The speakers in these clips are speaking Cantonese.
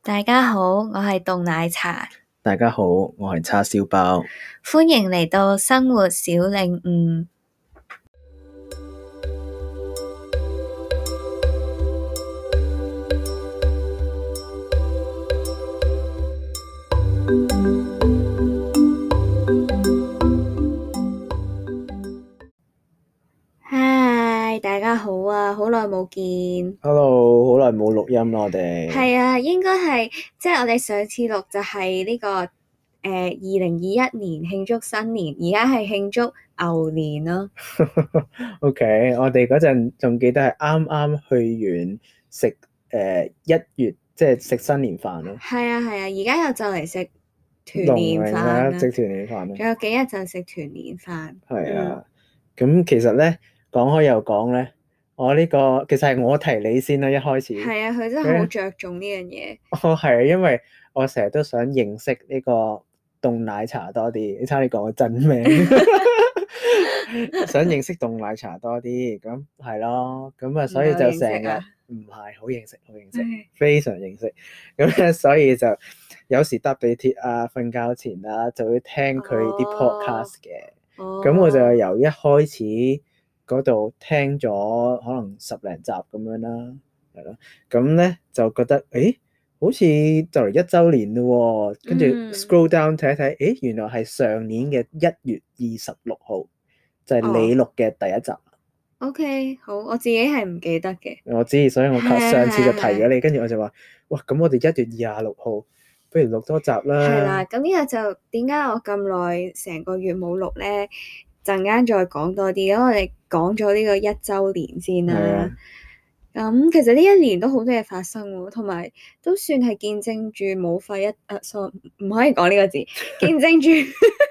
大家好，我係凍奶茶。 大家好，我係叉燒包。 歡迎嚟到生活小領悟。嗨，大家好啊，好耐冇見。 Hello，好耐冇錄音啦，我哋。 係啊，應該係即係我哋上次錄就係呢個2021年慶祝新年，而家係慶祝牛年咯。 OK，我哋嗰陣仲記得係啱啱去完食1月，即係食新年飯咯。 係啊，而家又就嚟食團年飯啦， 食團年飯啦。 仲有幾日就食團年飯。 係啊，咁其實咧講開又講咧，我呢個其實係我提你先啦，一開始。係啊，佢真係好着重呢樣嘢。 係啊，因為我成日都想認識呢個凍奶茶多啲，你差啲講個真名。想認識凍奶茶多啲，咁係咯，咁啊，所以就成日唔係好認識，非常認識，咁咧，所以就有時搭地鐵啊、瞓覺前啊，就會聽佢啲 podcast 嘅。咁我就由一開始嗰度聽咗可能10零集咁樣啦，係咯，咁咧就覺得好似就嚟1週年咯喎，跟住 scroll down 睇一睇，原來係上年嘅1月26號。就係你錄嘅第一集。 OK， 好，我自己係唔記得嘅。 我知，所以我上次就提咗你，跟住我就話，哇，咁我哋1月26號，不如錄多集啦。 係啦，咁呢個就點解我咁耐成個月冇錄咧？陣間再講多啲，咁我哋講咗呢個1週年先啦。咁其實呢一年都好多嘢發生喎，同埋都算係見證住武肺sorry，唔可以講呢個字，見證住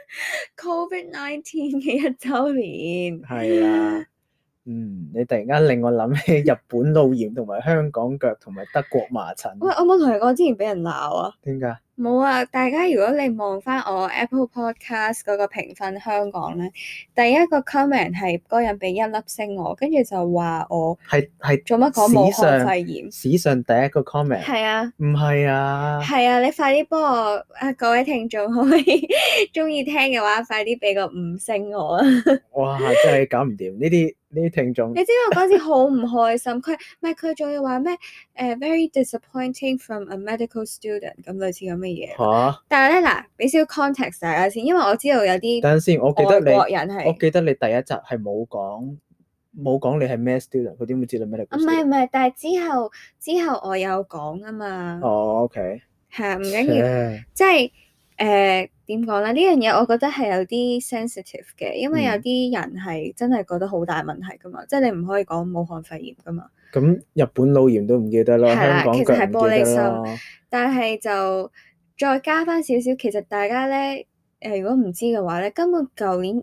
COVID-19 嘅1週年。係啦。 你突然間令我諗起日本腦炎同埋香港腳同埋德國麻疹。 喂，我冇同你講之前俾人鬧啊？ 點解？ 冇啊！大家如果你望翻我 Apple Podcast 嗰個評分香港咧，第一個 comment 係嗰人俾1粒星我，跟住就話我係做乜講武漢肺炎？ 史上第一個 comment。係啊。唔係啊？ 係啊！你快啲幫我各位聽眾可以中意聽嘅話，快啲俾個5星我啊！ 哇！真係搞唔掂呢啲聽眾。 你知我嗰時好唔開心，佢仲要話咩very disappointing from a medical student 咁類似咁嘅嘢。嚇！但係咧嗱，俾少 context 大家先，因為我知道有啲等陣先，我記得你第一集係冇講你係咩 student，佢點會知道 medical student？唔係，但係之後我有講啊嘛。 OK。 係啊，唔緊要，即係點講咧？呢樣嘢我覺得係有啲 sensitive 嘅，因為有啲人係真係覺得好大問題噶嘛，即係你唔可以講武漢肺炎噶嘛。咁日本腦炎都唔記得咯，香港其實係玻璃心。 但係就再加翻少少，其實大家咧如果唔知嘅話咧，根本舊年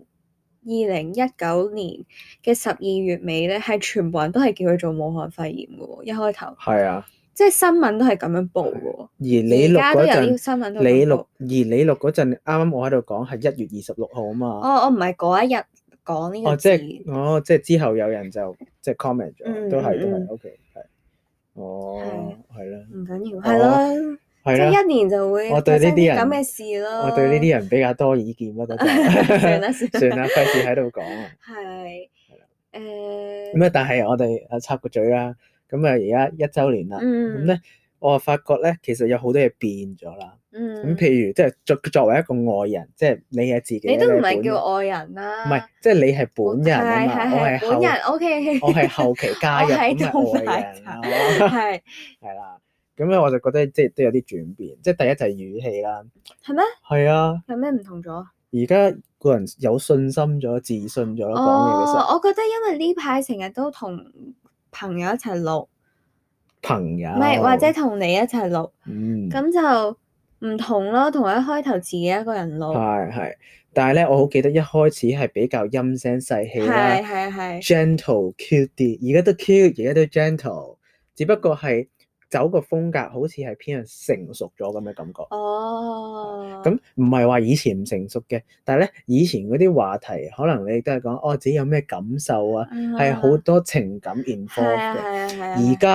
2019年嘅12月尾咧，係全部人都係叫佢做武漢肺炎嘅喎，一開頭。係啊。即係新聞都係咁樣報喎， 而你錄嗰陣， 你錄嗰陣，啱啱我喺度講係1月26號啊嘛。 我唔係嗰一日講呢個字。 即係之後有人就即係 comment 咗，都係 OK， 係。係啦。唔緊要。係咯。即係1年就會發生啲咁嘅事咯。 我對呢啲人比較多意見咯，算啦，費事喺度講啊。 係。 咁但係我哋插個嘴啦。咁啊，而家1週年啦，咁咧，我發覺咧，其實有好多嘢變咗啦。咁譬如，即係作為一個外人，即係你係自己， 你都唔係叫外人啦。 唔係，即係你係本人啊嘛，我係本人。OK， 我係後期加入咁嘅外人啊。係啦，咁咧我就覺得即係都有啲轉變。即係第一就係語氣啦。 係咩？ 係啊。 有咩唔同咗？ 而家個人有信心咗、自信咗講嘢嘅時候。 我覺得因為呢排成日都同朋友一齊錄， 朋友， 唔係或者同你一齊錄，咁就唔同咯。同一開頭自己一個人錄， 係，但係咧，我好記得一開始係比較陰聲細氣啦，係 gentle cute 啲，而家都 cute，而家都 gentle， 只不過係走個風格好似係偏向成熟咗咁嘅感覺。咁唔係話以前唔成熟嘅，但係咧以前嗰啲話題可能你都係講自己有咩感受啊，係好多情感 involve 嘅。而家咧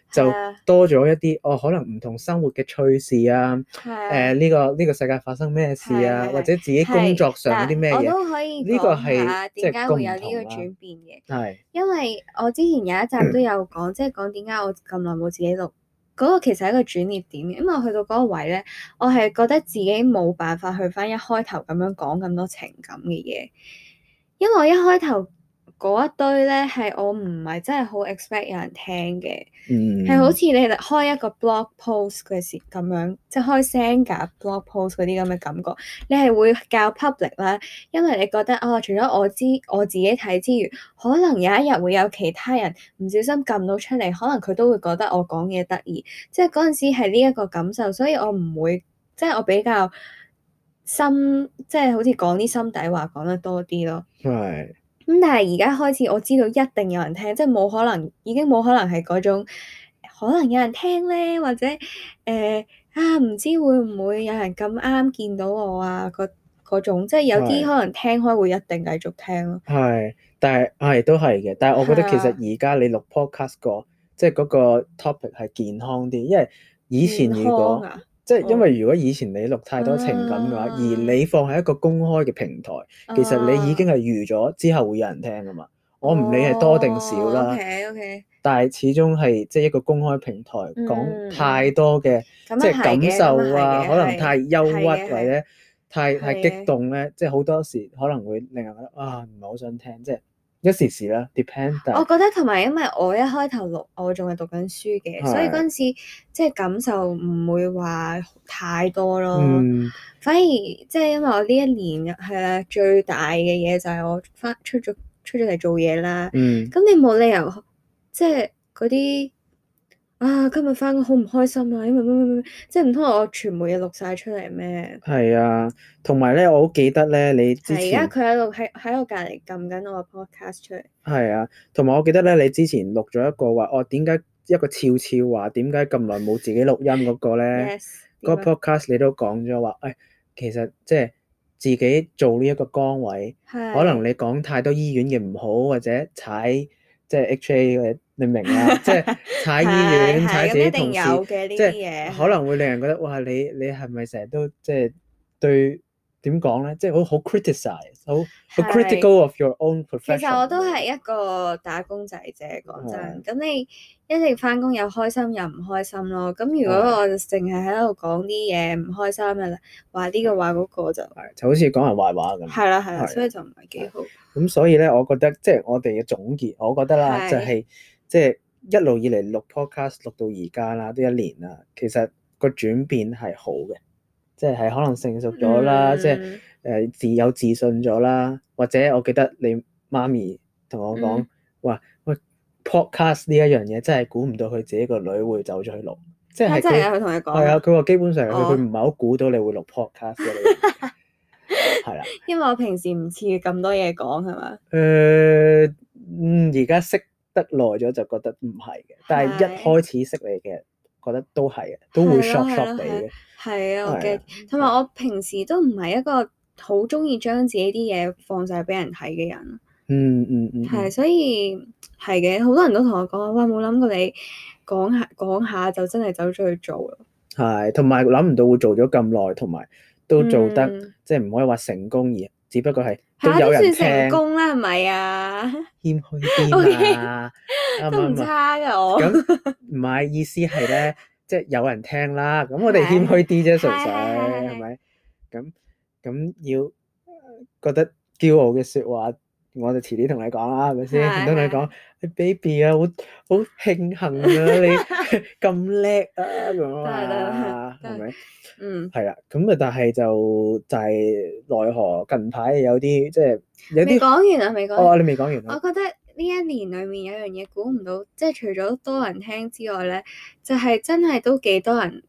就多咗一啲可能唔同生活嘅趣事啊，呢個世界發生咩事啊，或者自己工作上有啲咩嘢， 我都可以呢個講下點解會有呢個係轉變嘅。 係因為我之前有一集都有講，即係講點解我咁耐冇自己錄。嗰個其實係一個轉捩點嘅，因為我去到嗰個位咧，我係覺得自己冇辦法去翻一開頭咁樣講咁多情感嘅嘢，因為我一開頭嗰一堆咧係我唔係真係好 expect 有人聽嘅，係好似你開一個 blog post 嘅時咁樣，即係開 Xanga blog post 嗰啲咁嘅感覺，你係會較 public 啦，因為你覺得除咗我自己睇之餘，可能有一日會有其他人唔小心撳到出嚟，可能佢都會覺得我講嘢得意，即係嗰陣時係呢一個感受，所以我唔會即係我比較心，即係好似講啲心底話講得多啲咯。 係。 咁但係而家開始我知道一定有人聽，即係冇可能，已經冇可能係嗰種可能有人聽咧，或者唔知會唔會有人咁啱見到我啊嗰種，即係有啲可能聽開會一定繼續聽咯。 係，但係都係嘅，但係我覺得其實而家你錄 podcast 即係嗰個 topic 係健康啲，因為以前如果即係因為如果以前你錄太多情感嘅話，而你放喺一個公開嘅平台，其實你已經係預咗之後會有人聽噶嘛。我唔理係多定少啦。 Okay. 但係始終係即係一個公開平台，講太多嘅即係感受啊，可能太憂鬱或者太激動咧，即係好多時可能會令人覺得唔係好想聽，即係一時時啦，depend。 我覺得同埋因為我一開頭錄，我仲係讀緊書嘅，所以嗰陣時即係感受唔會話太多咯。反而即係因為我呢一年係最大嘅嘢就係我出咗嚟做嘢啦。咁你冇理由即係嗰啲今日返工好唔開心啊，因為乜即係唔通我全部嘢錄晒出嚟咩？係啊，同埋咧，我好記得咧，你之前而家佢喺我隔離撳緊我個 podcast 出嚟。 係啊，同埋我記得咧，你之前錄咗一個話，點解一個悄悄話，點解咁耐冇自己錄音嗰個咧？ Yes， 嗰個 podcast 你都講咗話，其實即係自己做呢一個崗位，可能你講太多醫院嘅唔好，或者踩即係 HA 嘅，你明啦，即係踩醫院、踩自己同事，即係可能會令人覺得哇，你係咪成日都即係對點講咧？即係好 criticize，好 critical of your own profession。 其實我都係一個打工仔啫，講真。咁你一定返工又開心又唔開心咯。咁如果我淨係喺度講啲嘢唔開心嘅啦，話呢個話嗰個就好似講人壞話咁。 係啦，所以就唔係幾好。 咁所以咧，我覺得即係我哋嘅總結，我覺得啦，就係即係一路以嚟錄 podcast 錄到而家啦，都1年啦。其實個轉變係好嘅，即係可能成熟咗啦，即係有自信咗啦。或者我記得你媽咪同我講話，喂 podcast 呢一樣嘢真係估唔到佢自己個女會走咗去錄，即係真係佢同你講。 係啊，佢話基本上佢唔係好估到你會錄 podcast 嘅。係啦， 因為我平時唔似咁多嘢講，係嘛？ 而家識得耐咗就覺得唔係嘅，但係一開始識你嘅，覺得都係嘅，都會 shock 你嘅。係啊，我嘅，同埋我平時都唔係一個好中意將自己啲嘢放晒俾人睇嘅人。係，所以係嘅，好多人都同我講話，冇諗過你講下就真係走咗去做咯。係，同埋諗唔到會做咗咁耐，同埋都做得即係唔可以話成功，而只不過係都有人聽。算成功啦，係咪啊？謙虛啲啊，都唔差㗎我。咁唔係意思係咧，即係有人聽啦。咁我哋謙虛啲啫，純粹係咪？咁要覺得驕傲嘅説話，我就遲啲同你講啦，係咪先？唔通你講，baby 啊，好慶幸啊，你咁叻啊咁啊，係咪？係啦，咁啊，但係就係奈何近排有啲即係有啲未講完啊，未講。你未講完。我覺得呢一年裡面有樣嘢估唔到，即係除咗多人聽之外咧，就係真係都幾多人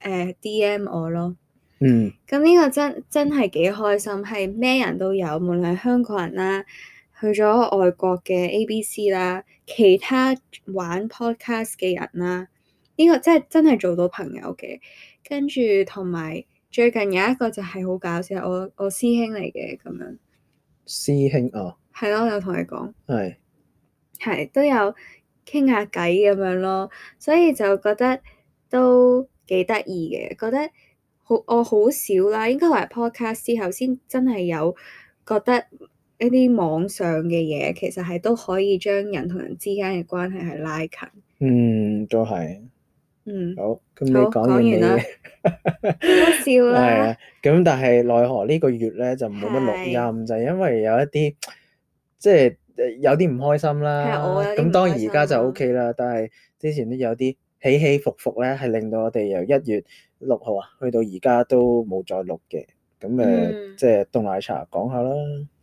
DM 我咯。咁呢個真係幾開心，係咩人都有，無論係香港人啦，去咗外國嘅 ABC 啦，其他玩 podcast 嘅人啦，呢個真係做到朋友嘅。跟住同埋最近有一個就係好搞笑，我師兄嚟嘅咁樣。師兄啊？係咯，我有同你講。係都有傾下偈咁樣咯，所以就覺得都幾得意嘅，覺得我好少啦，應該話 podcast 之後先真係有覺得一啲網上嘅嘢其實係都可以將人同人之間嘅關係係拉近。 都係。好，咁你好講完你講完啦，好笑啦。 係啊，咁但係奈何呢個月咧就冇乜錄音，就係因為有一啲即係有啲唔開心啦。咁當然而家就 OK 啦，但係之前都有啲起起伏伏咧，係令到我哋由1月6號啊去到而家都冇再錄嘅。咁即係凍奶茶講下啦。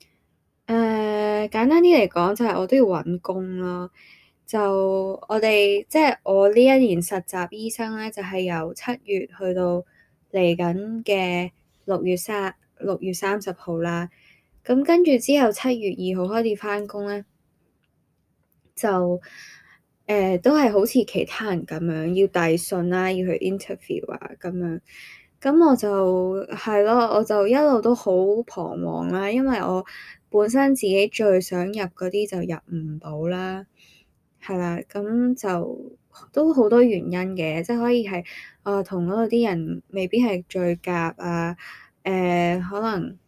簡單啲嚟講就係我都要揾工咯。就我哋即係我呢一年實習醫生咧，就係由7月去到嚟緊嘅6月30號啦。咁跟住之後7月2號開始返工咧，就都係好似其他人咁樣要遞信啦，要去 interview 啊咁樣。咁我就係咯，我就一路都好彷徨啦，因為我本身自己最想入嗰啲就入唔到啦。係啦，咁就都好多原因嘅，即係可以係同嗰度啲人未必係最夾啊，可能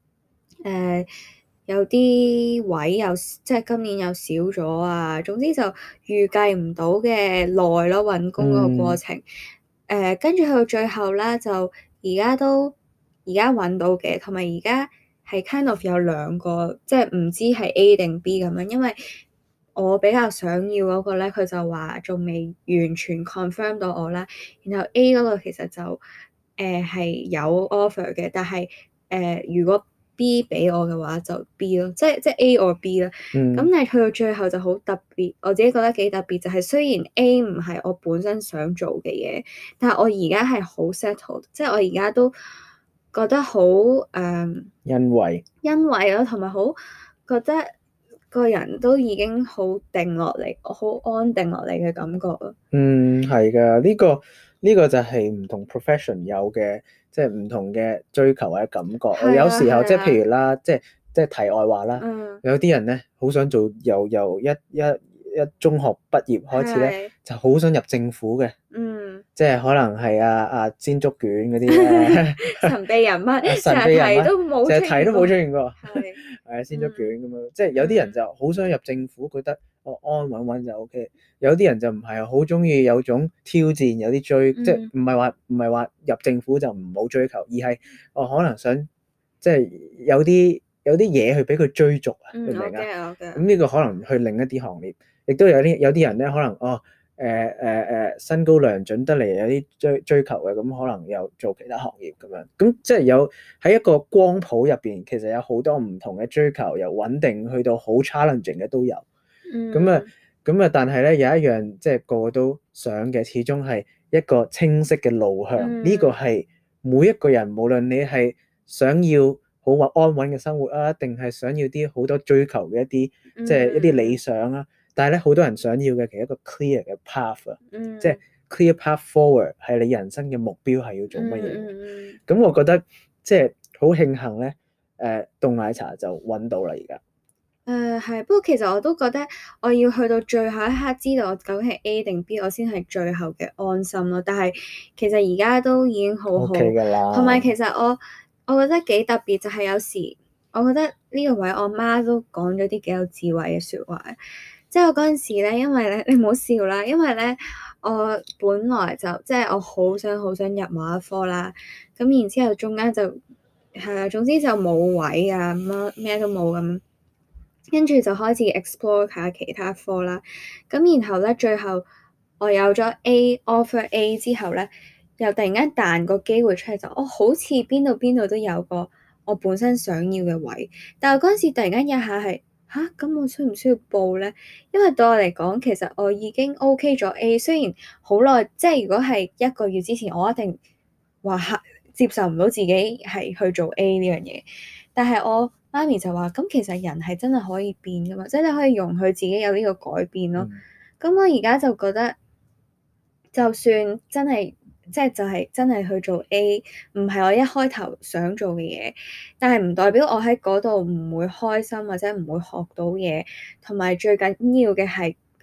有啲位又即係今年又少咗啊，總之就預計唔到嘅耐咯，揾工嗰個過程。跟住去到最後啦，就而家揾到嘅，同埋而家係 kind of 有兩個，即係唔知係 A 定 B 咁樣，因為我比較想要嗰個咧，佢就話仲未完全 confirm 到我啦。然後 A 嗰個其實就係有 offer 嘅，但係如果 B 俾我嘅話就 B 咯，即係 A or B 啦。咁但係去到最後就好特別，我自己覺得幾特別，就係雖然 A 唔係我本身想做嘅嘢，但係我而家係好 settled，即係我而家都覺得好欣慰咯，同埋好覺得個人都已經好定落嚟，好安定落嚟嘅感覺咯。 係㗎，呢個就係唔同 profession 有嘅，即係唔同嘅追求或者感覺。有時候即係譬如啦，即係題外話啦，有啲人咧好想做由一中學畢業開始咧，就好想入政府嘅。即係可能係煎竹卷嗰啲咧， 神秘人物，成日睇都冇出現過。 係煎竹卷咁樣，即係有啲人就好想入政府，覺得安安穩穩就 OK。有啲人就唔係好中意有種挑戰，有啲追，即係唔係話入政府就唔好追求，而係可能想即係有啲嘢去俾佢追逐啊，明唔明啊？咁呢個可能去另一啲行業，亦都有啲人咧，可能身高良準得嚟有啲追求嘅，咁可能又做其他行業咁樣，咁即係有喺一個光譜入邊，其實有好多唔同嘅追求，由穩定去到好 challenging 嘅都有。咁啊，但係咧有一樣即係個個都想嘅，始終係一個清晰嘅路向。呢個係每一個人，無論你係想要好安穩嘅生活啊，定係想要啲好多追求嘅一啲即係一啲理想啊。但係咧，好多人想要嘅其實一個 clear 嘅 path 啊，即係 clear path forward 係你人生嘅目標係要做乜嘢。咁我覺得即係好慶幸咧，凍奶茶就揾到啦而家。 係，不過其實我都覺得我要去到最後一刻知道我究竟係 A 定 B，我先係最後嘅安心咯。但係其實而家都已經好好㗎啦。同埋其實我覺得幾特別，就係有時我覺得呢個位我媽都講咗啲幾有智慧嘅説話。即係我嗰陣時咧，因為咧你唔好笑啦，因為咧我本來就即係我好想入某一科啦，咁然之後中間就係啊，總之就冇位啊，咩都冇咁，跟住就開始 explore 下其他科啦。咁然後咧最後我有咗 offer A 之後咧，又突然間彈個機會出嚟，就好似邊度都有個我本身想要嘅位，但係嗰陣時突然間一下係。咁我需唔需要報咧？因為對我嚟講，其實我已經 OK 咗 A，雖然好耐，即係如果係1個月之前，我一定話接受唔到自己係去做 A 呢樣嘢。但係我媽咪就話：咁其實人係真係可以變噶嘛，即係你可以容許自己有呢個改變咯。咁我而家就覺得，就算真係。即係就係真係去做 A，唔係我一開頭想做嘅嘢，但係唔代表我喺嗰度唔會開心或者唔會學到嘢，同埋最緊要嘅係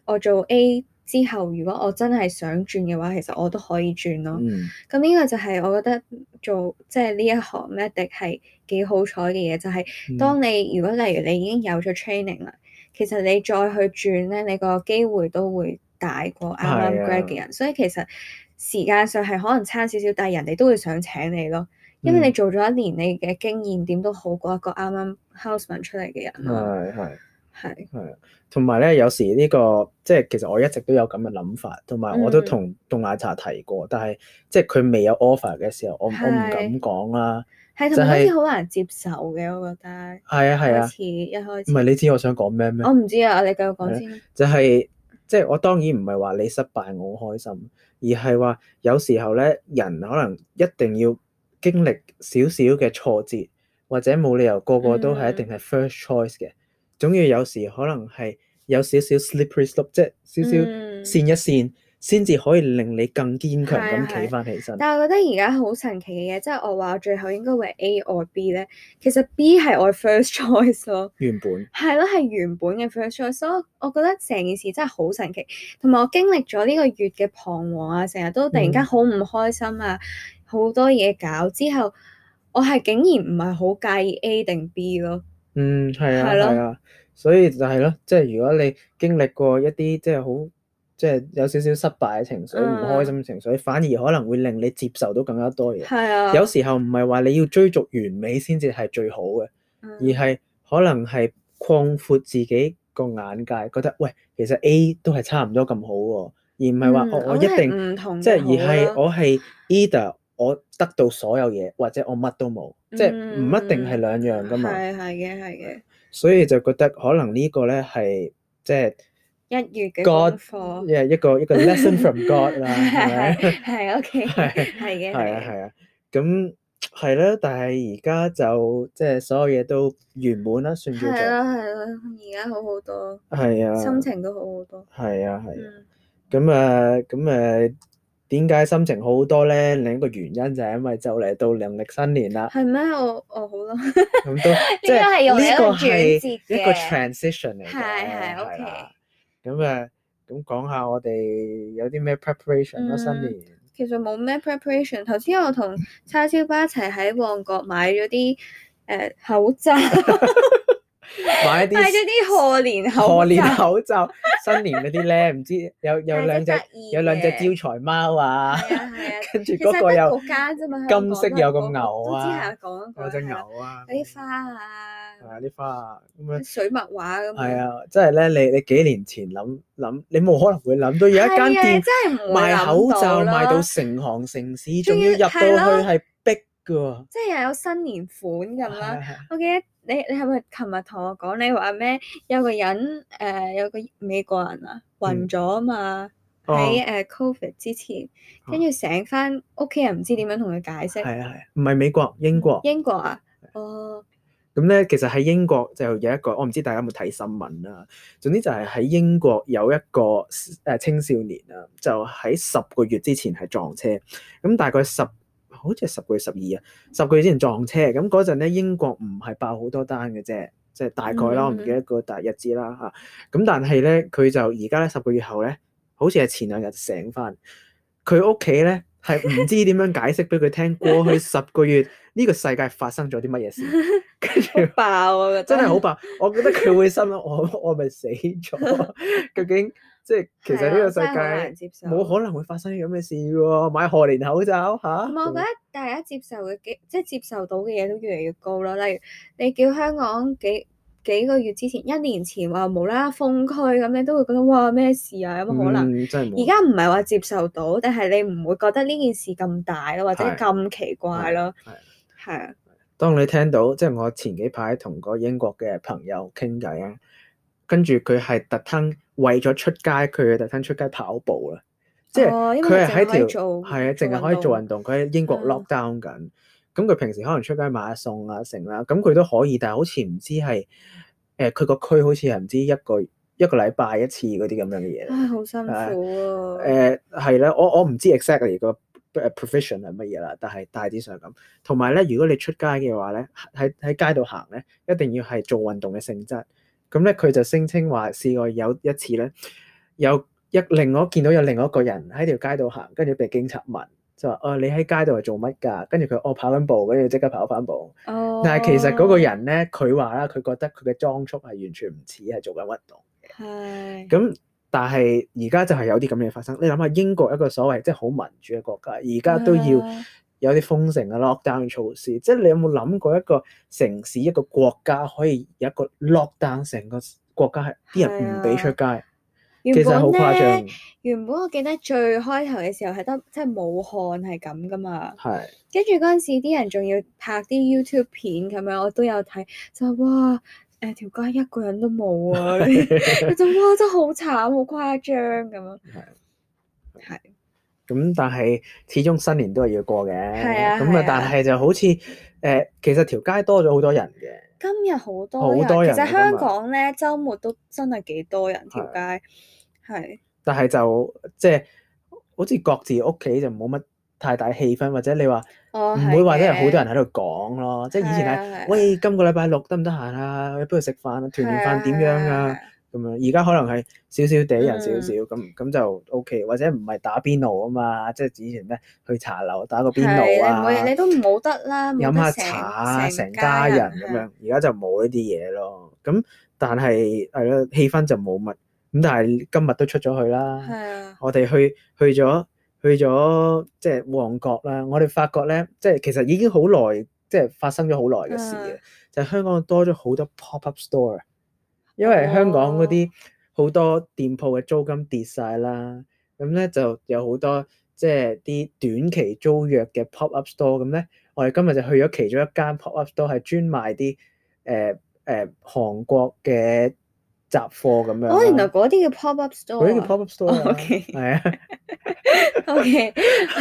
我做 A 之後，如果我真係想轉嘅話，其實我都可以轉咯。咁呢個就係我覺得做即係呢一行 medic 係幾好彩嘅嘢，就係當你如果例如你已經有咗 training 啦，其實你再去轉咧，你個機會都會大過啱啱 grad 嘅人，所以其實時間上係可能差少少，但係人哋都會想請你咯，因為你做咗一年，你嘅經驗點都好過一個啱啱 houseman 出嚟嘅人咯。係同埋咧，有時呢個即係其實我一直都有咁嘅諗法，同埋我都同凍奶茶提過，但係即係佢未有 offer 嘅時候，我唔敢講啦。 係同埋好似好難接受嘅，我覺得。係啊， 一開始。唔係你知我想講咩？ 我唔知啊，你繼續講先。 就係即係我當然唔係話你失敗我好開心，而係話有時候咧，人可能一定要經歷少少嘅挫折，或者冇理由個個都係一定係 first choice 嘅。總要有時可能係有少少 slippery slope，即係少少跣一跣，先至可以令你更堅強咁企翻起身。 但係我覺得而家好神奇嘅嘢，即係我話最後應該會 A or B 咧，其實 B 係我 first choice 咯。原本係咯，係原本嘅 first choice，所以我覺得成件事真係好神奇。同埋我經歷咗呢個月嘅彷徨啊，成日都突然間好唔開心啊，好多嘢搞之後，我係竟然唔係好介意 A 定 B 咯。 係啊，所以就係咯，即係如果你經歷過一啲即係好，即係有少少失敗嘅情緒、唔開心嘅情緒，反而可能會令你接受到更加多嘢。係啊，有時候唔係話你要追逐完美先至係最好嘅，而係可能係擴闊自己個眼界，覺得喂，其實 A 都係差唔多咁好喎，而唔係話我一定唔同，即係而係我係 either 我得到所有嘢，或者我乜都冇，即係唔一定係兩樣噶嘛。係嘅。所以就覺得可能呢個咧係即係一月嘅功課，一個 lesson from God 啦，係咪？係 OK，係嘅。咁係啦，但係而家就即係所有嘢都圓滿啦，算叫做係啦，而家好好多，係啊，心情都好好多，係啊。咁點解心情好好多咧？另一個原因就係因為就嚟到農曆新年啦。係咩？我好啦。咁都即係呢個係一個 transition 嚟嘅。係 OK。咁講下我哋有啲咩 preparation 咯？新年其實冇咩 preparation。頭先我同叉燒巴一齊喺旺角買咗啲口罩。買咗啲賀年口罩，新年嗰啲咧，唔知有兩隻招財貓啊，跟住嗰個有金色有個牛啊，有隻牛啊，有啲花啊，啲花啊咁樣水墨畫咁。係啊，即係咧，你幾年前諗，你冇可能會諗到有一間店賣口罩賣到成行成市，仲要入到去係逼噶，即係又有新年款咁啦。我記得。你係咪琴日同我講你話咩？有個人有個美國人啊暈咗啊嘛，喺COVID 之前，跟住醒翻屋企人唔知點樣同佢解釋。係啊，唔係美國，英國。英國啊？哦。咁咧，其實喺英國就有一個，我唔知大家有冇睇新聞啦。總之就係喺英國有一個青少年啊，就喺10個月之前係撞車，咁大概好似係10個月12啊，10個月之前撞車，咁嗰陣咧英國唔係爆好多單嘅啫，即係大概啦，我唔記得個大日子啦嚇。咁但係咧佢就而家咧10個月後咧，好似係前2日醒翻，佢屋企咧係唔知點樣解釋俾佢聽，過去10個月呢個世界發生咗啲乜嘢事，跟住爆啊！真係好爆，我覺得佢會心諗我咪死咗，究竟？即係其實呢個世界冇可能會發生啲咁嘅事喎，買賀年口罩嚇。我覺得大家接受嘅即係接受到嘅嘢都越嚟越高啦。例如你叫香港幾個月之前、1年前話無啦啦封區咁，你都會覺得哇咩事啊？有冇可能？真係冇。而家唔係話接受到，但係你唔會覺得呢件事咁大咯，或者咁奇怪咯。係啊。當你聽到即係我前幾排同個英國嘅朋友傾偈啊，跟住佢係特登。為咗出街，佢特登出街跑步啦，即係佢係喺條係啊，淨係可以做運動。佢喺英國 lock down 緊，咁佢平時可能出街買下餸啊成啦，咁佢都可以，但係好似唔知係佢個區好似係唔知一個禮拜1次嗰啲咁樣嘅嘢。唉，好辛苦啊！係啦，我唔知 exactly 個 profession 係乜嘢啦，但係大致上咁。同埋咧，如果你出街嘅話咧，喺街度行咧，一定要係做運動嘅性質。咁咧，佢就聲稱話試過有一次咧， 另外見到有另外一個人喺條街度行，跟住被警察問，就話你喺街度係做乜㗎？跟住佢跑緊步，跟住即刻跑翻步。但係其實嗰個人咧，佢話啦，佢覺得佢嘅裝束係完全唔似係做緊運動嘅。 係。 咁但係而家就係有啲咁嘅發生。你諗下英國一個所謂即係好民主嘅國家，而家都要有啲封城嘅 lockdown 措施。即係你有冇諗過一個城市一個國家可以有一個 lockdown， 成個國家係啲人唔俾出街？其實好誇張。 原本我記得最開頭嘅時候係得即係武漢係咁噶嘛。 係。跟住嗰陣時啲人仲要拍啲 YouTube 片咁樣，我都有睇，就哇條街一個人都冇啊！佢就哇真係好慘，好誇張咁樣。係。咁但係始終新年都係要過嘅。 係啊。 咁啊，但係就好似其實條街多咗好多人嘅。 今日好多人，其實香港咧週末都真係幾多人條街。係。但係就即係好似各自屋企就冇乜太大氣氛，或者你話唔會話真係好多人喺度講咯。即係以前係喂，今個禮拜六得唔得閒啊？不如食飯啊，團年飯點樣啊？咁樣而家可能係少少地人少少咁就 OK， 或者唔係打邊爐啊嘛，即係以前咩去茶樓打個邊爐啊， 你都冇得啦， 飲下茶啊，成家人咁樣。而家就冇呢啲嘢咯。咁但係係咯，氣氛就冇乜。咁但係今日都出咗去啦。我哋去咗即係旺角啦。我哋發覺咧，即係其實已經好耐，即係發生咗好耐嘅事嘅，就係香港多咗好多 pop-up store。因為香港嗰啲好多店鋪嘅租金跌晒啦，咁咧就有好多即係啲短期租約嘅 pop-up store。咁咧，我哋今日就去咗其中一間 pop-up store，係專賣啲韓國嘅雜貨咁樣。 原來嗰啲叫 pop-up store。 嗰啲叫 pop-up store。 OK。 係啊。 OK。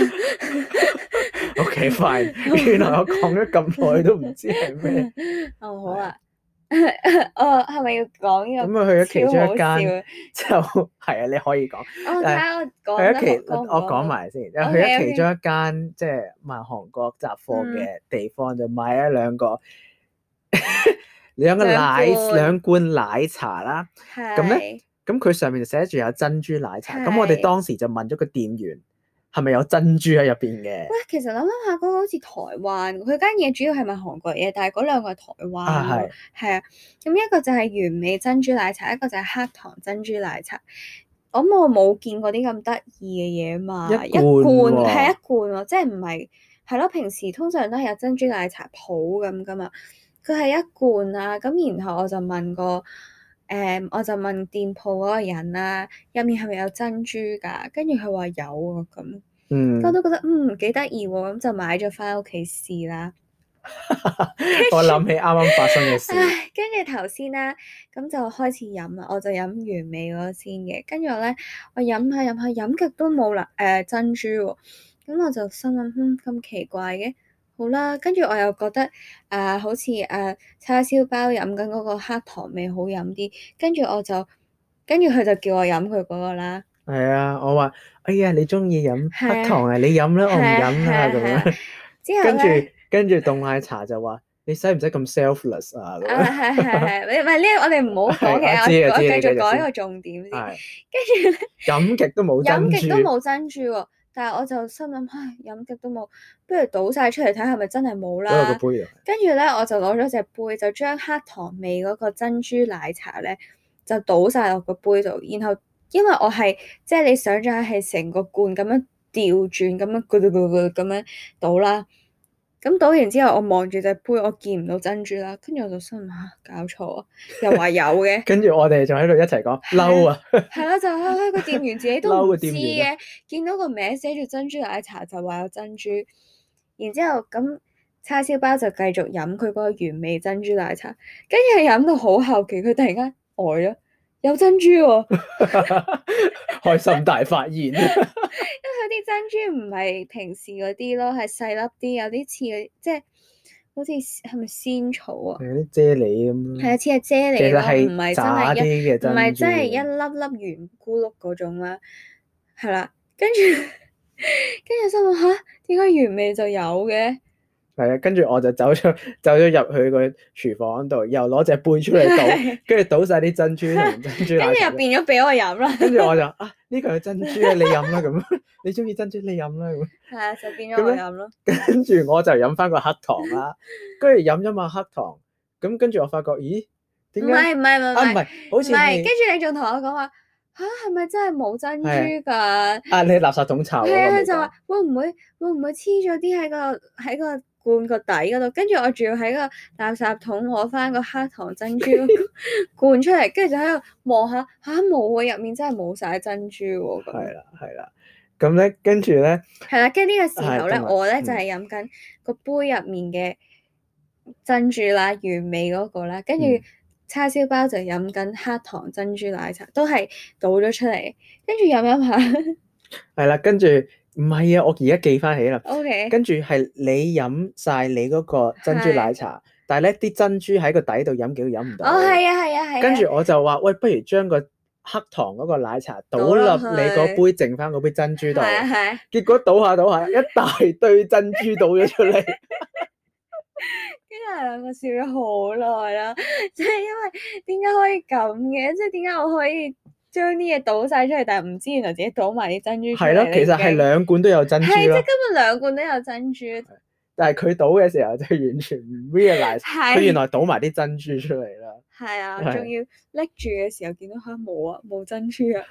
OK fine。原來我講咗咁耐都唔知係咩。 好啊。係咪要講呢個？ 咁啊，去咗其中一間就係啊，你可以講。我講埋先。去咗其中一間即係賣韓國雜貨嘅地方，就買咗兩罐奶茶啦。咁咧，咁佢上面就寫住有珍珠奶茶。咁我哋當時就問咗個店員，係咪有珍珠喺入邊嘅？ 喂，其實諗下嗰個好似台灣，佢間嘢主要係賣韓國嘢，但係嗰兩個係台灣。係啊。咁一個就係原味珍珠奶茶，一個就係黑糖珍珠奶茶。我冇見過啲咁得意嘅嘢嘛。一罐係一罐喎，即係唔係係咯？平時通常都係有珍珠奶茶鋪咁噶嘛。佢係一罐啊，咁然後我就問店鋪嗰個人啦，入面係咪有珍珠㗎？跟住佢話有啊咁。我都覺得幾得意喎，咁就買咗翻屋企試啦。 我諗起啱啱發生嘅事。 跟住頭先啦，咁就開始飲啦，我就飲原味嗰個先嘅。跟住咧，我飲下飲極都冇珍珠喎。咁我就心諗咁奇怪嘅。好啦，跟住我又覺得好似叉燒包飲緊嗰個黑糖味好飲啲。跟住佢就叫我飲佢嗰個啦。 係啊，我話哎呀，你中意飲黑糖啊，你飲啦，我唔飲啦咁樣。之後跟住凍奶茶就話你使唔使咁 selfless 啊？ 係，唔係呢？我哋唔好講嘅，我繼續講一個重點先。跟住咧， 飲極都冇珍珠喎，但係我就心諗，飲極都冇，不如倒晒出嚟睇係咪真係冇啦。 攞個杯啊！ 跟住咧，我就攞咗隻杯，就將黑糖味嗰個珍珠奶茶咧，就倒晒落個杯度，然後。因為我係即係你想象係成個罐咁樣調轉咁樣咁樣倒啦，咁倒完之後我望住隻杯，我見唔到珍珠啦，跟住我就心諗搞錯啊，又話有嘅。跟住我哋仲喺度一齊講嬲啊。 係啦，就個店員自己都唔知嘅，見到個名寫住珍珠奶茶就話有珍珠，然之後咁叉燒包就繼續飲佢嗰個原味珍珠奶茶，跟住飲到好後期，佢突然間呆咗。有珍珠喎。 開心大發現。因為佢啲珍珠唔係平時嗰啲咯，係細粒啲，有啲似即係好似係咪仙草啊？ 係啲啫喱咁咯。係啊，似係啫喱咯，唔係真係唔係真係一粒粒圓咕碌嗰種啦。係啦，跟住心諗點解原味就有嘅？ 係啊，跟住我就走咗入去個廚房度，又攞隻杯出嚟倒，跟住倒晒啲珍珠同珍珠奶茶， 跟住又變咗俾我飲啦。 跟住我就呢個係珍珠啊，你飲啦咁，你中意珍珠你飲啦咁。 係啊，就變咗我飲咯。 跟住我就飲翻個黑糖啦，跟住飲咗嘛黑糖，咁跟住我發覺，咦？點解？唔係，好似係。 跟住你仲同我講話嚇，係咪真係冇珍珠㗎？ 你垃圾桶臭。 係啊，佢就話會唔會黐咗啲喺個罐個底嗰度？跟住我仲要喺個垃圾桶攞翻個黑糖珍珠罐出嚟，跟住就喺度望下冇啊，入面真係冇晒珍珠喎。 係啦，咁咧跟住咧係啦，跟住呢個時候咧，我咧就係飲緊個杯入面嘅珍珠啦，原味嗰個啦，跟住叉燒包就飲緊黑糖珍珠奶茶，都係倒咗出嚟，跟住飲下。 係啦，跟住唔係啊，我而家記翻起啦。 OK。 跟住係你飲晒你嗰個珍珠奶茶，但係咧啲珍珠喺個底度飲幾都飲唔到。 係啊。 跟住我就話喂，不如將個黑糖嗰個奶茶倒入你嗰杯剩翻嗰杯珍珠度。係。結果倒下一大堆珍珠倒咗出嚟。 跟住兩個笑咗好耐啦，即係因為點解可以咁嘅？即係點解我可以將啲嘢倒晒出嚟，但係唔知原來自己倒埋啲珍珠出嚟。係咯， 其實係兩罐都有珍珠咯。係，即係根本兩罐都有珍珠。 但係佢倒嘅時候就完全唔 realize，佢原來倒埋啲珍珠出嚟啦。係啊， 仲要拎住嘅時候見到冇珍珠啊！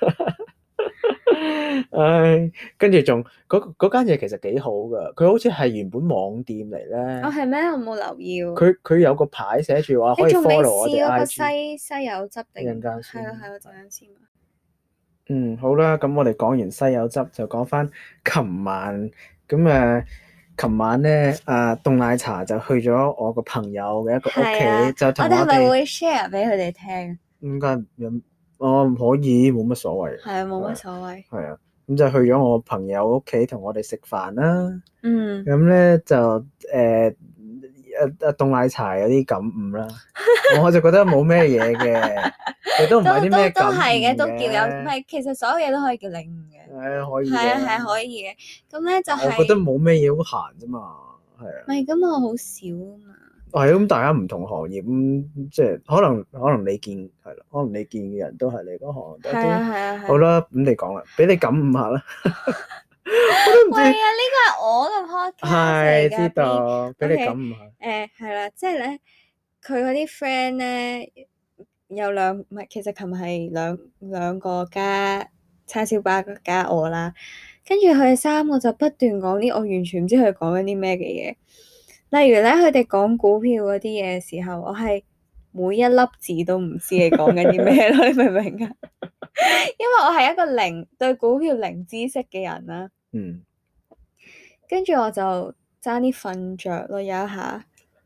唉，跟住仲嗰間嘢其實幾好噶，佢好似係原本網店嚟咧。 係咩？我冇留意。 佢有個牌寫住話可以 follow 我哋 IG。你仲未試嗰個西柚汁定？陣間先。係啊，陣間先。好啦，咁我哋講完西柚汁，就講翻琴晚。咁琴晚咧凍奶茶就去咗我個朋友嘅一個屋企，就同我哋。我哋係咪會 share 俾佢哋聽？ 應該唔可以，冇乜所謂。 係啊，冇乜所謂。 係啊，咁就去咗我朋友屋企同我哋食飯啦。咁咧就凍奶茶有啲感悟啦。我就覺得冇咩嘢嘅，亦都唔係啲咩感悟嘅。都係嘅，都叫有，唔係，其實所有嘢都可以叫領悟嘅。可以。係可以嘅。咁咧就係。我覺得冇咩嘢好閒啫嘛，係啊。唔係，咁我好少啊嘛。係咁，大家唔同行業咁，即係可能你見係啦，可能你見嘅人都係你嗰行多啲。係啊。好啦，咁你講啦，俾你感悟下啦。我都唔知。係啊，呢個係我嘅 podcast 嚟㗎。係知道，俾你感悟下。係啦，即係咧，佢嗰啲 friend 咧有唔係，其實琴日係兩個加叉燒包加我啦，跟住佢哋三個就不斷講啲我完全唔知佢哋講緊啲咩嘅嘢。例如咧，佢哋講股票嗰啲嘢嘅時候，我係每一粒字都唔知你講緊啲咩咯，你明唔明啊？因為我係一個對股票零知識嘅人啦。跟住我就爭啲瞓着咯，有一下。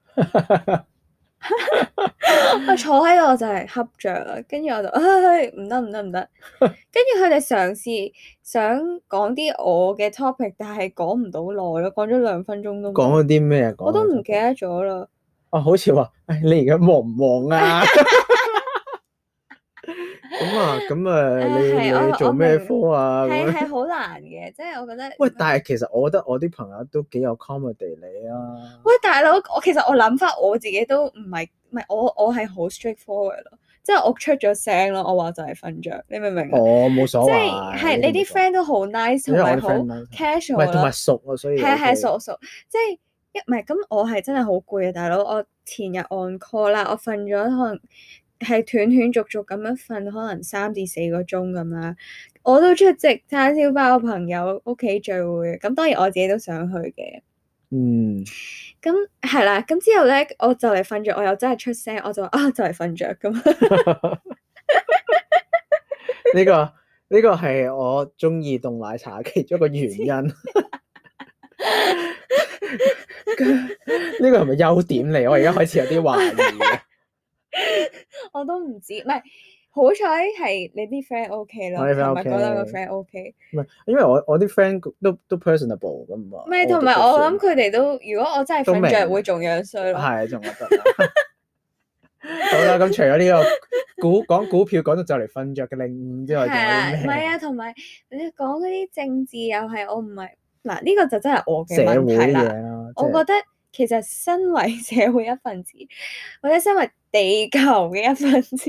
我坐喺度就係瞌着啦，跟住我就唔得。跟住佢哋嘗試想講啲我嘅 topic， 但係講唔到耐咯，講咗2分鐘都。講咗啲咩啊？我都唔記得咗啦。好似話，你而家忙唔忙啊？你做咩科啊？係好難嘅，即係我覺得。喂，但係其實我覺得我啲朋友都幾有 comedy 你啊。喂，大佬，其實我諗翻我自己都唔係我係好 straightforward 咯，即係我出咗聲咯，我話就係瞓着，你明唔明啊？冇所謂。即係你啲 friend 都好 nice 同埋好 casual 咯，同埋熟啊，所以係熟，即係唔係咁，我係真係好攰啊，大佬，我前日 on call 啦，我瞓咗可能。係斷續咁樣瞓，可能3至4個鐘咁啦。我都出席叉燒包朋友屋企聚會，咁當然我自己都想去嘅。咁係啦，咁之後咧，我就嚟瞓着，我又真係出聲，我就話就嚟瞓着咁。呢個係我中意凍奶茶其中一個原因。呢個係咪優點嚟？我而家開始有啲懷疑。我都唔知，唔係好彩係你啲 friend OK 咯，同埋嗰兩個 friend OK。唔係，因為我啲 friend 都 personable 咁嘛。唔係，同埋我諗佢哋都，如果我真係瞓着會仲樣衰咯。係，仲覺得。好啦，咁除咗呢個講股票講到就嚟瞓着嘅領悟之外，仲有啲咩？唔係啊，同埋你講嗰啲政治又係我唔係嗱，呢個就真係我嘅問題啦。我覺得其實身為社會一份子，或者身為地球嘅一份子，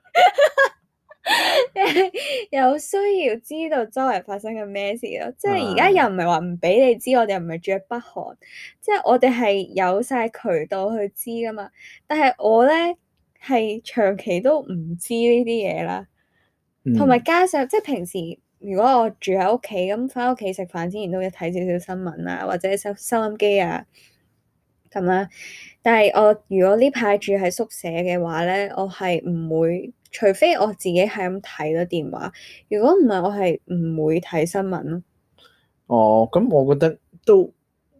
有需要知道周圍發生緊咩事咯。即係而家又唔係話唔俾你知，我哋又唔係住喺北韓，即係我哋係有晒渠道去知噶嘛。但係我咧係長期都唔知呢啲嘢啦，同埋加上即係平時如果我住喺屋企咁，翻屋企食飯之前都要睇少少新聞啊，或者收音機啊咁啦。但係我如果呢排住喺宿舍嘅話咧，我係唔會，除非我自己係咁睇咗電話，如果唔係我係唔會睇新聞咯。 哦，咁我覺得都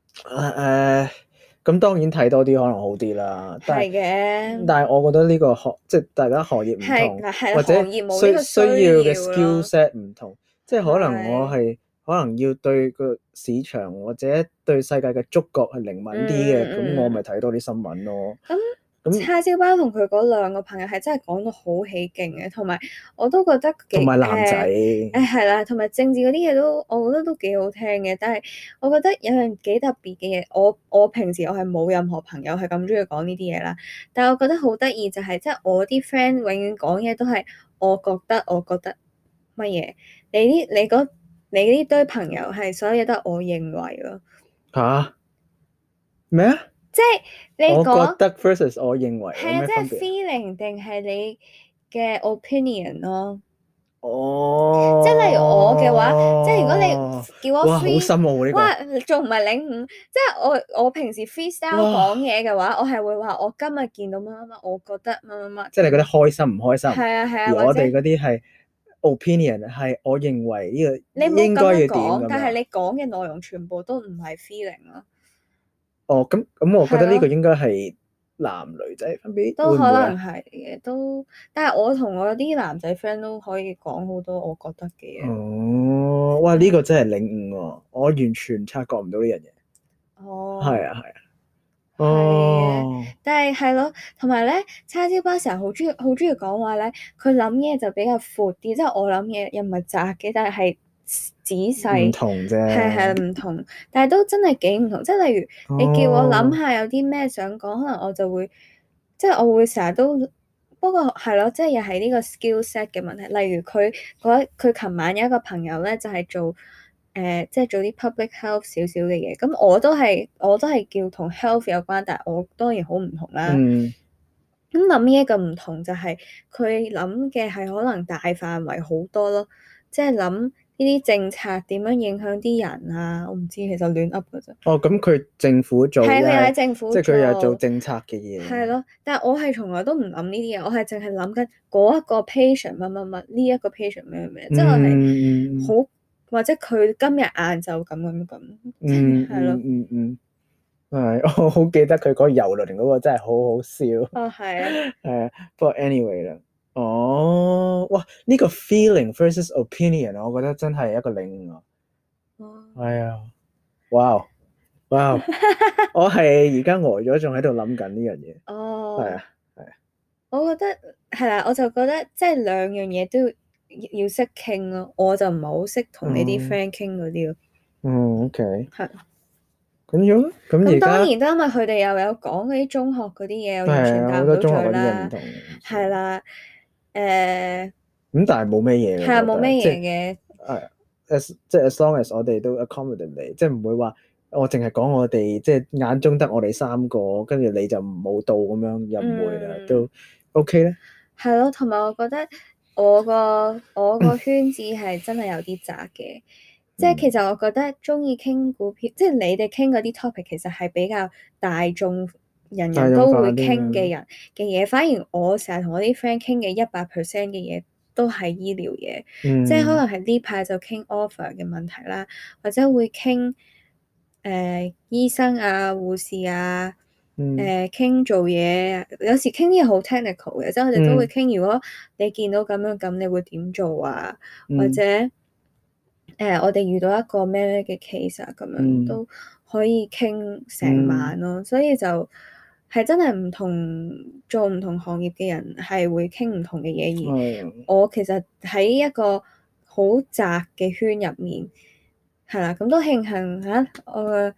咁當然睇多啲可能好啲啦。係嘅。但係我覺得呢個即係大家行業唔同，或者需要嘅 skill set 唔同，即係可能我係可能要對個市場或者對世界嘅觸覺係靈敏啲嘅，咁我咪睇多啲新聞咯。咁叉燒包同佢嗰兩個朋友係真係講到好起勁嘅，同埋我都覺得同埋男仔係啦，同埋政治嗰啲嘢都我覺得都幾好聽嘅。但係我覺得有樣幾特別嘅嘢，我平時我係冇任何朋友係咁中意講呢啲嘢啦。但係我覺得好得意就係，即係我啲 friend 永遠講嘢都係我覺得乜嘢，你呢堆朋友係所有嘢都係我認為咯。 吓？咩啊？ 即係你講， 我覺得 versus 我認為係啊，即係 feeling 定係你嘅 opinion 咯。 哦， 即係例如我嘅話，即係如果你叫我 free， 哇，好深奧呢個， 哇，仲唔係領悟？即係我平時 freestyle 講嘢嘅話，我係會話我今日見到乜乜乜，我覺得乜乜乜。 即係你覺得開心唔開心？ 係啊係啊。 而我哋嗰啲係 opinion，係我認為呢個應該要點咁樣。 但係你講嘅內容全部都唔係 feeling 咯。 哦，咁我覺得呢個應該係男女仔分別， 都可能係嘅，都。但係我同我啲男仔 friend 都可以講好多我覺得嘅嘢。 哦，哇！呢個真係領悟喎，我完全察覺唔到呢樣嘢。 哦。 係啊係啊。 哦。但係係咯，同埋咧，叉燒包成日好中意講話咧，佢諗嘢就比較闊啲，即係我諗嘢又唔係窄嘅，但係仔細唔同啫， 係唔同，但係都真係幾唔同。即係例如你叫我諗下有啲咩想講，可能我就會即係我會成日都，不過係咯，即係又係呢個 skill set 嘅問題。例如佢琴晚有一個朋友咧，就係做即係做啲 public health 少少嘅嘢，咁我都係叫同 health 有關，但係我當然好唔同啦。咁諗呢一個唔同就係佢諗嘅係可能大範圍好多咯，即係諗呢啲政策點樣影響啲人啊？我唔知，其實亂噏㗎啫。 哦，咁佢政府做係佢喺政府做， 即係佢又做政策嘅嘢。 係咯，但係我係從來都唔諗呢啲嘢，我係淨係諗緊嗰一個 patient 乜乜乜，呢一個 patient 咩咩，即係我係好或者佢今日晏晝咁，係咯。 係，我好記得佢嗰個遊輪嗰個真係好好笑。 哦，係啊。 係啊，不過 anyway 啦。哦，哇！呢個 feeling versus opinion，我覺得真係一個領悟啊。係啊，哇！我係而家呆咗，仲喺度諗緊呢樣嘢。 哦。 係啊。 我覺得係啦，我就覺得即係兩樣嘢都要識傾咯，我就唔係好識同你啲 friend 傾嗰啲咯。 OK。係。 咁樣咁而家當然都因為佢哋又有講嗰啲中學嗰啲嘢，我完全答唔到嘴啦。係啦。 咁但係冇咩嘢嘅。係啊， 冇咩嘢嘅。 即係 as long as 我哋都 accommodate 你，即係唔會話我淨係講我哋即係眼中得我哋三個，跟住你就冇到咁樣，又唔會啦，都 OK 咧。係咯，同埋我覺得我個圈子係真係有啲窄嘅。即係其實我覺得中意傾股票，即係你哋傾嗰啲 topic 其實係比較大眾，人人都會傾嘅人嘅嘢。反而我成日同我啲 friend 傾嘅100% 嘅嘢都係醫療嘢。即係可能係呢排就傾 offer 嘅問題啦，或者會傾醫生啊、護士啊，傾做嘢。有時傾啲嘢好 technical 嘅，即係我哋都會傾。如果你見到咁樣咁，你會點做啊？或者我哋遇到一個咩嘅 case 啊，咁樣都可以傾成晚咯。所以就係真係唔同做唔同行業嘅人係會傾唔同嘅嘢。而我其實喺一個好窄嘅圈入面，係啦，咁都慶幸嚇我嘅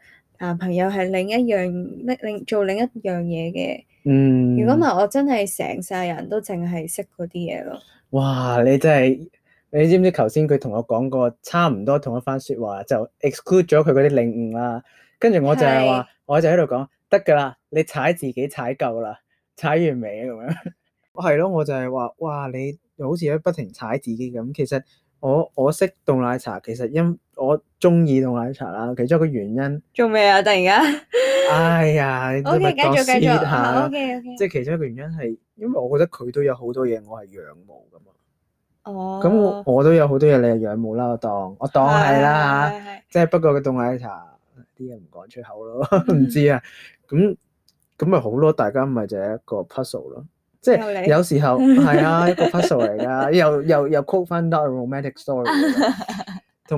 男朋友係做另一樣嘢嘅。如果唔係，我真係成世人都淨係識嗰啲嘢咯。 哇！你真係，你知唔知頭先佢同我講過差唔多同一番説話，就 exclude 咗佢嗰啲領悟啦。跟住我就係話，我就喺度講得㗎啦，你踩自己踩夠啦，踩完未咁樣？係咯，我就係話，哇！你好似喺不停踩自己咁。其實我識凍奶茶，其實因我中意凍奶茶啦。其中一個原因做咩啊？突然間， 哎呀，OK， 繼續下 ，OK， 即係其中一個原因係，因為我覺得佢都有好多嘢我係仰慕㗎嘛。 哦， 咁我都有好多嘢你係仰慕啦，我當係啦嚇，即係不過個凍奶茶啲嘢唔講出口咯，唔知啊。咁咪好咯，大家咪就係一個 puzzle 咯。即係有時候係啊，一個 puzzle 嚟㗎，又 quote 翻 Not a Romantic Story 同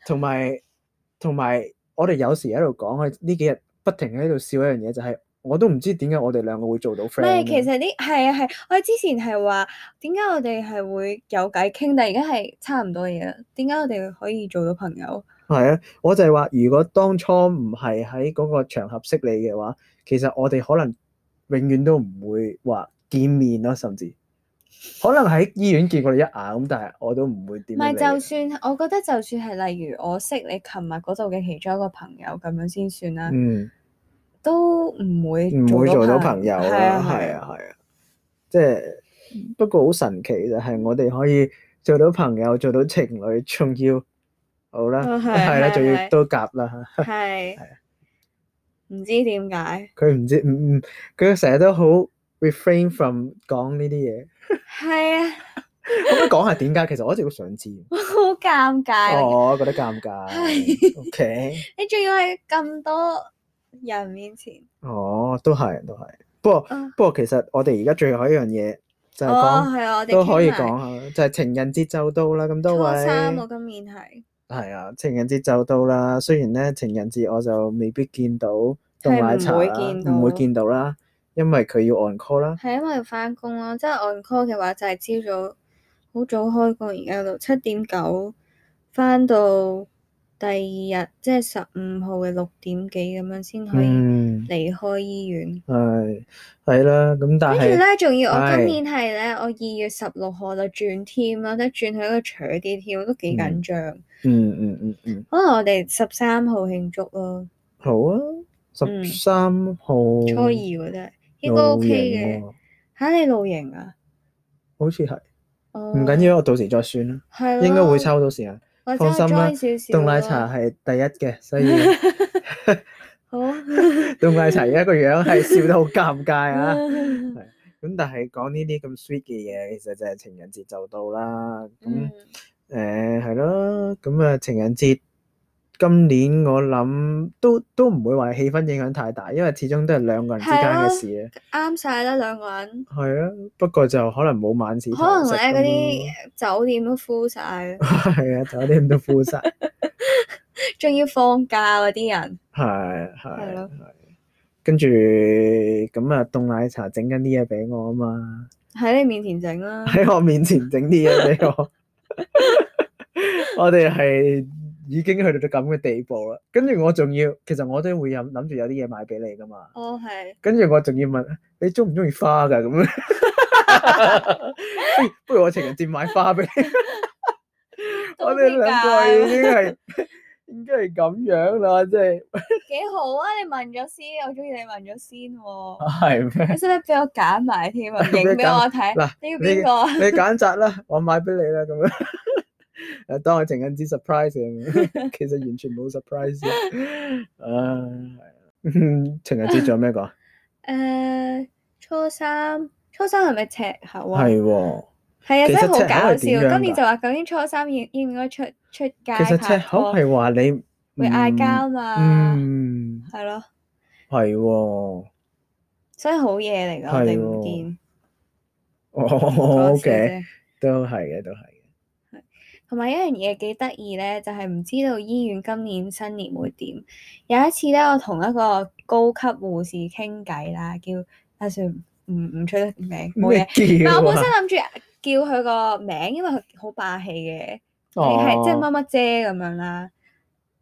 埋我哋有時喺度講，佢呢幾日不停喺度笑一樣嘢，就係我都唔知點解我哋兩個會做到 friend。唔係， 其實係我哋之前係話點解我哋係會有偈傾，但係而家係差唔多嘢啦。點解我哋可以做到朋友？ 係啊，我就係話，如果當初唔係喺嗰個場合識你嘅話，其實我哋可能永遠都唔會話見面咯，甚至可能喺醫院見過你一眼咁，但係我都唔會點。唔係， 就算我覺得，就算係例如我識你琴日嗰度嘅其中一個朋友咁樣先算啦。都唔會做到朋友啦。 係啊，即係不過好神奇就係我哋可以做到朋友，做到情侶，仲要好啦，係啦，仲要都夾啦。 係唔知點解佢唔知佢成日都好 refrain from 講呢啲嘢。 係啊， 可唔可以講下點解？其實我一直都想知。 好尷尬。 我覺得尷尬。OK。 你仲要喺咁多人面前。 都係。不過其實我哋而家最後一樣嘢就係講，都可以講下，就係情人節就到啦。咁多位。 初三我今年係。係啊，情人節就到啦。雖然咧情人節我就未必見到凍奶茶啦，唔會見到啦，因為佢要 on call 啦。 係因為要返工咯，即係 on call 嘅話就係朝早好早開工，而家到7:9返到第二日即係15號嘅6點幾咁樣先可以離開醫院。 係啦，咁但係跟住咧，仲要我今年係咧，我2月16號就轉 team 啦，即係轉去一個長啲 team，都幾緊張。可能我哋13號慶祝咯。 好啊，13號初二喎，真係應該 OK 嘅。嚇，你露營啊？ 好似係。唔緊要，我到時再算啦。 係咯。 應該會抽到時間。放心啦，凍奶茶係第一嘅，所以好。 凍奶茶而家個樣係笑得好尷尬啊！咁但係講呢啲咁 sweet 嘅嘢，其實就係情人節就到啦。咁係咯，咁啊情人節今年我諗都唔會話氣氛影響太大，因為始終都係兩個人之間嘅事啊。 啱晒啦，兩個人。 係啊，不過就可能冇晚市堂食。 可能咧嗰啲酒店都 full 晒。 係啊，酒店都 full 晒。 仲要放假嗰啲人。 係。跟住咁啊，凍奶茶整緊啲嘢俾我啊嘛。喺你面前整啦。 喺我面前整啲嘢俾我。我哋係已經去到咁嘅地步啦。跟住我仲要，其實我都會諗住有啲嘢買俾你噶嘛。 係。 跟住我仲要問你中唔中意花㗎咁樣？不如我情人節買花俾你。我哋兩個已經係。應該係咁樣啦，即係幾好啊！你問咗先，我中意你問咗先喎。 係咩？ 你使唔使俾我揀埋添啊？影俾我睇。嗱，你要邊個？ 你揀擇啦，我買俾你啦，咁樣。誒，當我情人節 surprise 咁，其實完全冇 surprise。情人節仲有咩講？ 初三係咪赤口啊？ 係喎。 係啊，真係好搞笑。今年就話究竟初三應唔應該出街？其實赤口係話你會嗌交嘛？係咯。 係喎。 所以好嘢嚟㗎，我哋唔見。 OK，都係嘅。 同埋一樣嘢幾得意咧，就係唔知道醫院今年新年會點。有一次咧，我同一個高級護士傾偈啦，算唔出得名，冇嘢。但我本身諗住叫佢個名，因為佢好霸氣嘅，你係即係乜乜姐咁樣啦。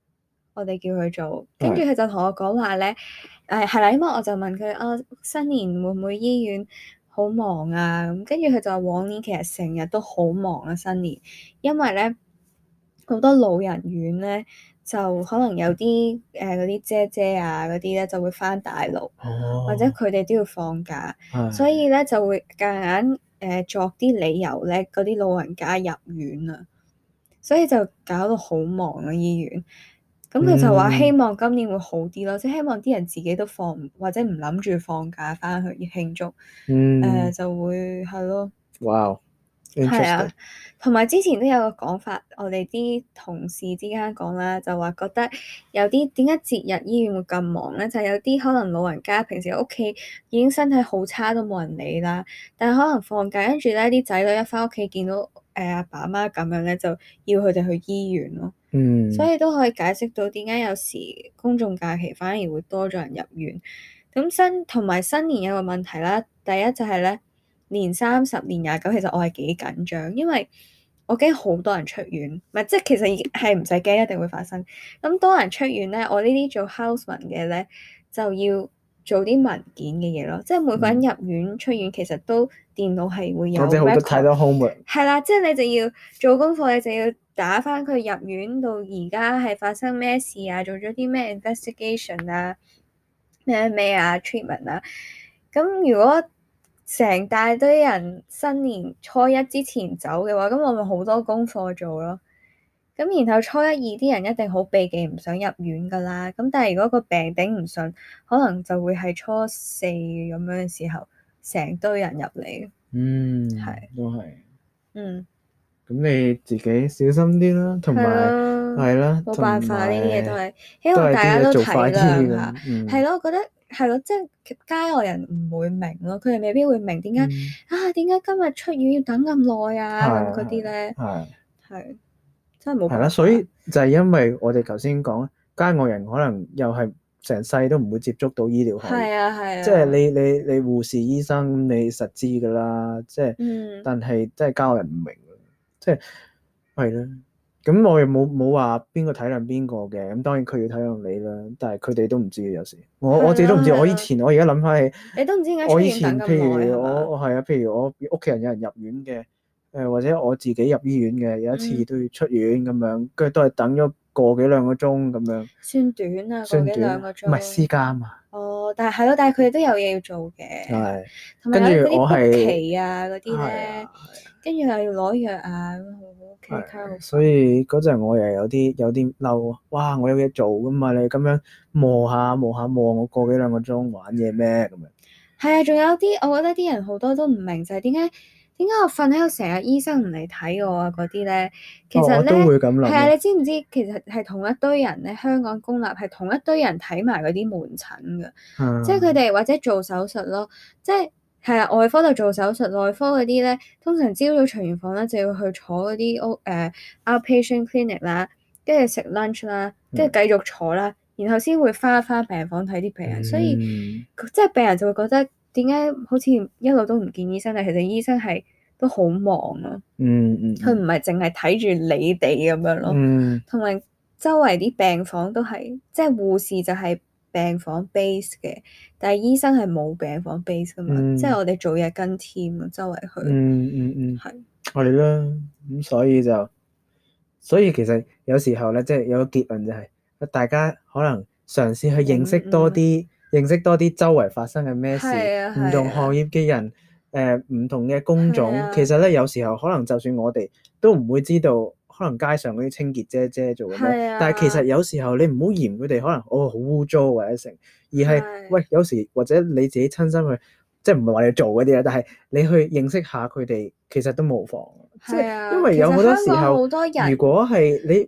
我哋叫佢做，跟住佢就同我講話咧，係啦，因為我就問佢新年會唔會醫院好忙啊？咁跟住佢就話往年其實成日都好忙啊，新年，因為咧好多老人院咧就可能有啲嗰啲姐姐啊嗰啲咧就會返大陸，或者佢哋都要放假，所以咧就會夾硬作啲理由咧，嗰啲老人家入院啊，所以就搞到好忙啊醫院。咁佢就話希望今年會好啲咯，即係希望啲人自己都或者唔諗住放假翻去慶祝，就會係咯。 哇！ 係啊，同埋之前都有個講法，我哋啲同事之間講啦，就話覺得有啲點解節日醫院會咁忙咧？就係有啲可能老人家平時喺屋企已經身體好差都冇人理啦，但係可能放假跟住咧啲仔女一翻屋企見到阿爸阿媽咁樣咧，就要佢哋去醫院咯。所以都可以解釋到點解有時公眾假期反而會多咗人入院。咁同埋新年有個問題啦，第一就係咧年30、年29，其實我係幾緊張，因為我驚好多人出院，唔係即係其實係唔使驚，一定會發生。咁多人出院咧，我呢啲做 houseman 嘅咧就要做啲文件嘅嘢咯，即係每個人入院出院其實都電腦係會有 record， 太多 homework。 係啦，即係你就要做功課，你就要打返佢入院到而家係發生咩事啊，做咗啲咩 investigation 啊，咩啊 treatment 啊。咁如果成大堆人新年初一之前走嘅話，咁我咪好多功課做咯。咁然後初一二啲人一定好避忌唔想入院噶啦。咁但係如果個病頂唔順，可能就會係初四咁樣嘅時候，成堆人入嚟。係都係。咁咁你自己小心啲啦，同埋係啦， 冇辦法，呢啲嘢都係希望大家都體諒下。係咯，我覺得係咯，即係街外人唔會明咯，佢哋未必會明點解點解今日出院要等咁耐啊咁嗰啲咧。係真係冇辦法。係啦， 所以就係因為我哋頭先講，街外人可能又係成世都唔會接觸到醫療行業。 係啊。 即係你護士醫生你實知㗎啦，即係但係即係街外人唔明。即係啦，咁我又冇話邊個體諒邊個嘅，咁當然佢要體諒你啦，但係佢哋都唔知嘅有時，我自己都唔知。我而家諗翻起， 你都唔知點解我以前出院等咁耐。 譬如我屋企人有人入院嘅，或者我自己入醫院嘅，有一次都要出院咁樣，跟住都係等咗個幾兩個鐘咁樣。 算短啊，個幾兩個鐘。 唔係私家啊嘛。 但係佢哋都有嘢要做嘅。 係。 同埋有嗰啲 book 期啊嗰啲咧，跟住又要攞藥啊，咁好。 所以嗰陣我又有啲嬲，哇！我有嘢做噶嘛，你咁樣磨下我個幾兩個鐘玩嘢咩咁樣？ 係啊，仲有啲我覺得啲人好多都唔明就係點解我瞓喺度成日醫生唔嚟睇我啊嗰啲咧，其實咧係啊，你知唔知其實係同一堆人咧？香港公立係同一堆人睇埋嗰啲門診㗎，即係佢哋或者做手術咯，即係啊，外科就做手術，內科嗰啲咧，通常朝早巡完房咧就要去坐嗰啲outpatient clinic 啦，跟住食 lunch 啦，跟住繼續坐啦，然後先會返病房睇啲病人，所以即係病人就會覺得點解好似一路都唔見醫生，但其實醫生係都好忙咯。佢唔係淨係睇住你哋咁樣咯。同埋周圍啲病房都係，即係護士就係病房 base 嘅，但係醫生係冇病房 base 噶嘛，即係我哋做嘢跟 team 周圍去。 係啦，咁所以其實有時候咧，即係有個結論就係，大家可能嘗試去認識多啲周圍發生嘅咩事，唔同行業嘅人，唔同嘅工種，其實咧有時候可能就算我哋都唔會知道。可能街上嗰啲清潔姐姐做嘅咩？但係其實有時候你唔好嫌佢哋可能好污糟或者成，而係喂有時或者你自己親身去，即係唔係話你做嗰啲啦，但係你去認識下佢哋，其實都無妨。即係因為有好多時候，如果係你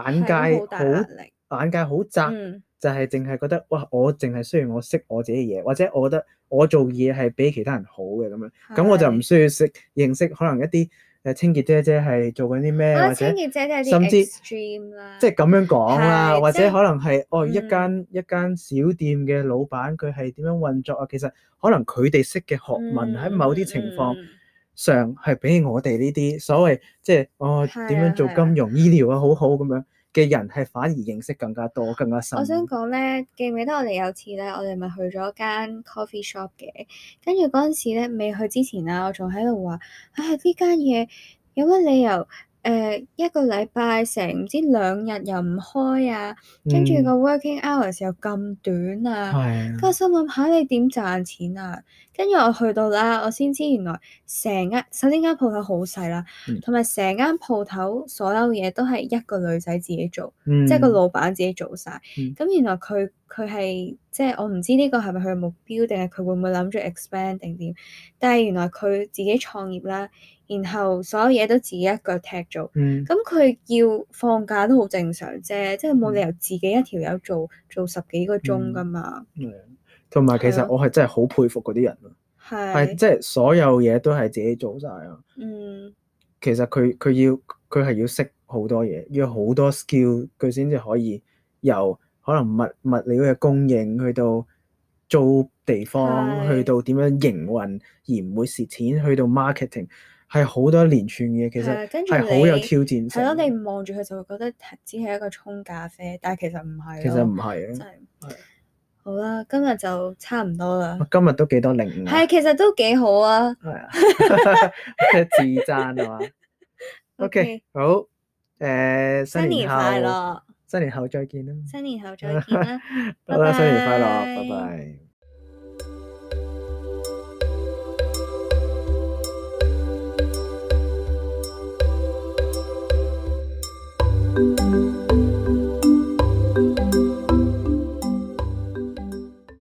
眼界好窄，就係淨係覺得哇，我淨係需要我識我自己嘅嘢，或者我覺得我做嘢係比其他人好嘅咁樣，咁我就唔需要認識可能一啲。清潔姐姐係做緊啲咩，或者甚至即係咁樣講啦，或者可能係一間小店嘅老闆佢係點樣運作啊？其實可能佢哋識嘅學問喺某啲情況上係比我哋呢啲所謂即係點樣做金融醫療啊好好咁樣， 嘅人係反而認識更加多、更加深。 我想講咧，記唔記得我哋有次咧，我哋咪去咗間 coffee shop 嘅，跟住嗰陣時咧，未去之前啊，我仲喺度話，唉，呢間嘢有乜理由？一個禮拜成唔知2日又唔開啊，跟住個 working hours 又咁短啊，跟住我心諗下你點賺錢啊？跟住我去到啦，我先知原來首先間鋪頭好細啦，同埋成間鋪頭所有嘢都係一個女仔自己做，即係個老闆自己做晒。咁原來佢係即係我唔知呢個係咪佢嘅目標，定係佢會唔會諗住 expand 定點？但係原來佢自己創業啦。然後所有嘢都自己一腳踢做，咁佢要放假都好正常啫，即係冇理由自己一條友做10幾個鐘㗎嘛。 同埋其實我係真係好佩服嗰啲人咯，係即係所有嘢都係自己做晒啊。其實佢係要識好多嘢，要好多 skill，佢先至可以由可能物料嘅供應去到租地方，去到點樣營運而唔會蝕錢，去到 marketing。係好多連串嘅，其實係好有挑戰性。 係咯，你望住佢就會覺得只係一個沖咖啡，但係其實唔係。 其實唔係啊， 真係。好啦，今日就差唔多啦。 今日都幾多領悟。 係，其實都幾好啊。 係啊，自讚啊嘛。OK，好。新年快樂！新年後再見啦。 新年後再見啦。 好啦，新年快樂，拜拜。